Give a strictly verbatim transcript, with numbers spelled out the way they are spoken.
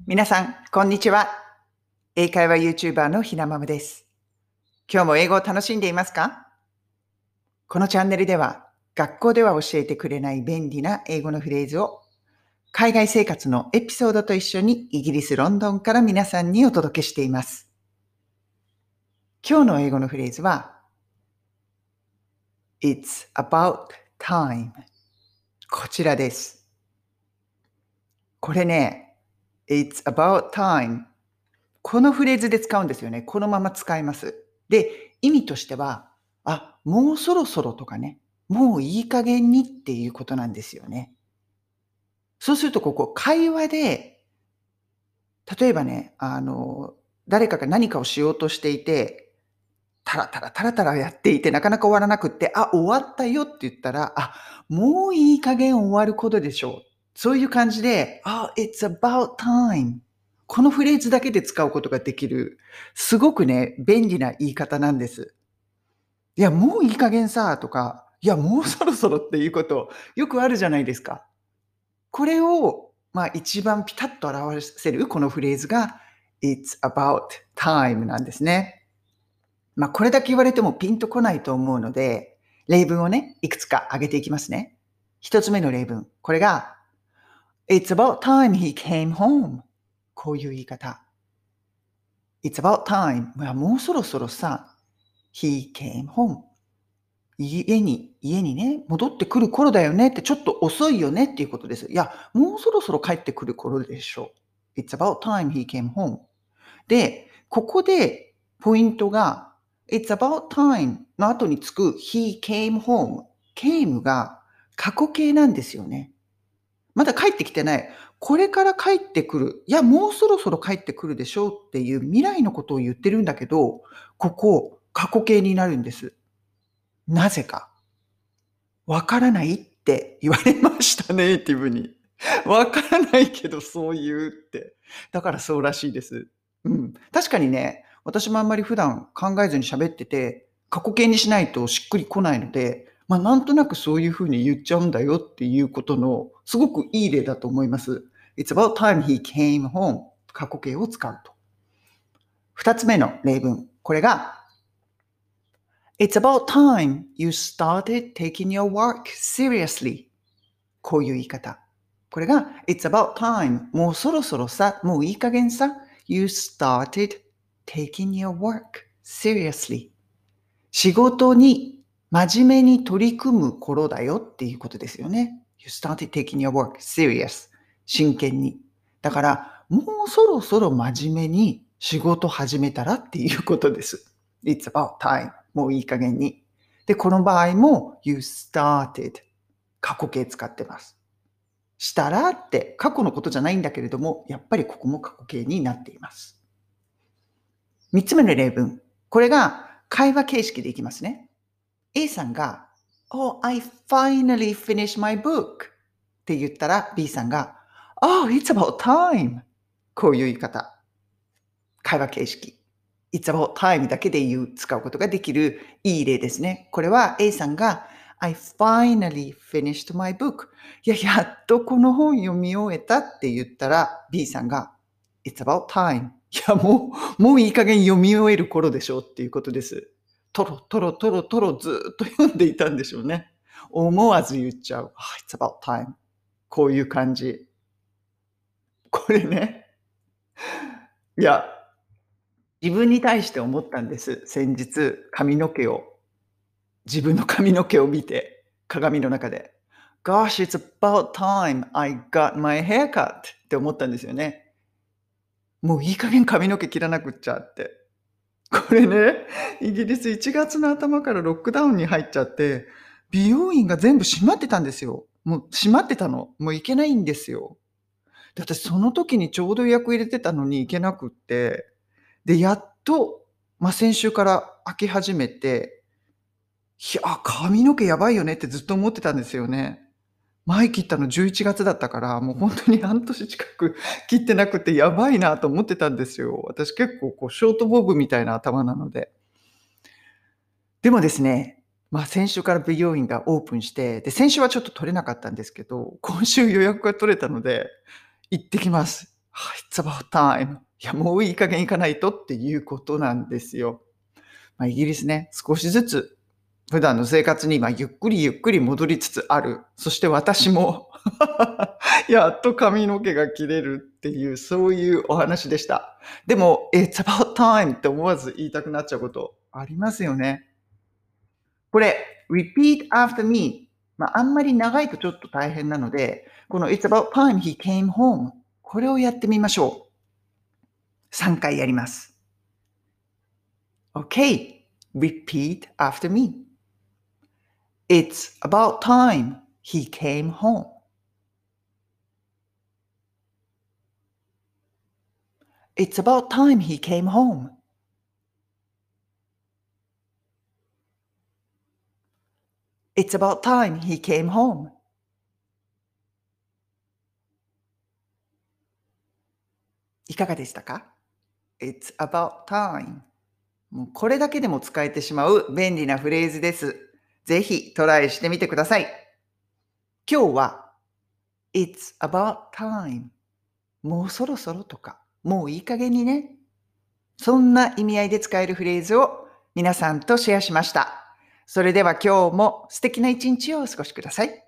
皆さん、こんにちは。英会話 YouTuber のひなまむです。今日も英語を楽しんでいますか？このチャンネルでは、学校では教えてくれない便利な英語のフレーズを、海外生活のエピソードと一緒にイギリス・ロンドンから皆さんにお届けしています。今日の英語のフレーズは、It's about time。こちらです。これね、It's about time。このフレーズで使うんですよね。このまま使います。で、意味としては、あ、もうそろそろとかね、もういい加減にっていうことなんですよね。そうすると、ここ、会話で、例えばね、あの、誰かが何かをしようとしていて、タラタラタラタラやっていて、なかなか終わらなくって、あ、終わったよって言ったら、あ、もういい加減終わることでしょう。そういう感じで、あ、it's about time。このフレーズだけで使うことができる、すごくね、便利な言い方なんです。いや、もういい加減さとか、いや、もうそろそろっていうこと、よくあるじゃないですか。これを、まあ、一番ピタッと表せるこのフレーズが、It's about time なんですね。まあ、これだけ言われてもピンとこないと思うので、例文をね、いくつか挙げていきますね。一つ目の例文。これが、It's about time he came home。こういう言い方。It's about time。まあもうそろそろさ、he came home。家に、家にね、戻ってくる頃だよねって、ちょっと遅いよねっていうことです。いや、もうそろそろ帰ってくる頃でしょう。It's about time he came home。で、ここでポイントが、It's about time の後につく he came home。came が過去形なんですよね。まだ帰ってきてない。これから帰ってくる。いや、もうそろそろ帰ってくるでしょうっていう未来のことを言ってるんだけど、ここ、過去形になるんです。なぜか。わからないって言われましたね、ネイティブに。わからないけどそう言うって。だからそうらしいです。うん。確かにね、私もあんまり普段考えずに喋ってて、過去形にしないとしっくりこないので、ま、なんとなくそういう風に言っちゃうんだよっていうことの、すごくいい例だと思います。It's about time he came home。過去形を使うと。二つ目の例文。これが、It's about time you started taking your work seriously。こういう言い方。これが、It's about time。もうそろそろさ、もういい加減さ。You started taking your work seriously。仕事に真面目に取り組む頃だよっていうことですよね。You started taking your work serious。真剣に。だから、もうそろそろ真面目に仕事始めたらっていうことです。It's about time。もういい加減に。で、この場合も You started。過去形使ってます。したらって過去のことじゃないんだけれども、やっぱりここも過去形になっています。三つ目の例文。これが会話形式でいきますね。A さんが、Oh, I finally finished my book って言ったら B さんが、Oh, it's about time。こういう言い方。会話形式。It's about time だけで言う、使うことができるいい例ですね。これは A さんが、I finally finished my book。いや、やっとこの本読み終えたって言ったら B さんが、It's about time。いや、もう、もういい加減読み終える頃でしょうっていうことです。トロトロトロトロずっと読んでいたんでしょうね。思わず言っちゃう。It's about time。こういう感じ。これね。いや、自分に対して思ったんです。先日、髪の毛を、自分の髪の毛を見て、鏡の中で。Gosh, it's about time I got my haircut って思ったんですよね。もういい加減髪の毛切らなくっちゃって。これね、イギリスいちがつの頭からロックダウンに入っちゃって、美容院が全部閉まってたんですよ。もう閉まってたの。もう行けないんですよ。で、私その時にちょうど予約入れてたのに行けなくって、で、やっと、ま、先週から開き始めて、いや、髪の毛やばいよねってずっと思ってたんですよね。前切ったのじゅういちがつだったから、もうほんとに半年近く切ってなくてやばいなと思ってたんですよ。私結構こうショートボブみたいな頭なので。でもですね、ま、先週から美容院がオープンして、で、先週はちょっと取れなかったんですけど、今週予約が取れたので、行ってきます。 It's about time. いや、もういい加減行かないとっていうことなんですよ。まあ、イギリスね、少しずつ普段の生活に今ゆっくりゆっくり戻りつつある。そして私もやっと髪の毛が切れるっていう、そういうお話でした。でも、It's about time って思わず言いたくなっちゃうことありますよね。これ、repeat after me。まあ、あんまり長いとちょっと大変なので、この It's about time he came home。これをやってみましょう。さんかいやります。Okay, repeat after me. It's about time he came home. It's about time he came home. It's about time he came home. いかがでしたか？ It's about time。もうこれだけでも使えてしまう便利なフレーズです。ぜひトライしてみてください。今日は It's about time。もうそろそろとか、もういい加減にね。そんな意味合いで使えるフレーズを皆さんとシェアしました。それでは今日も素敵な一日をお過ごしください。